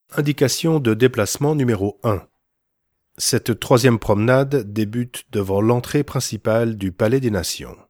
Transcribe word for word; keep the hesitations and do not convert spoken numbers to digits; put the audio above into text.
Indication de déplacement numéro un. Cette troisième promenade débute devant l'entrée principale du Palais des Nations.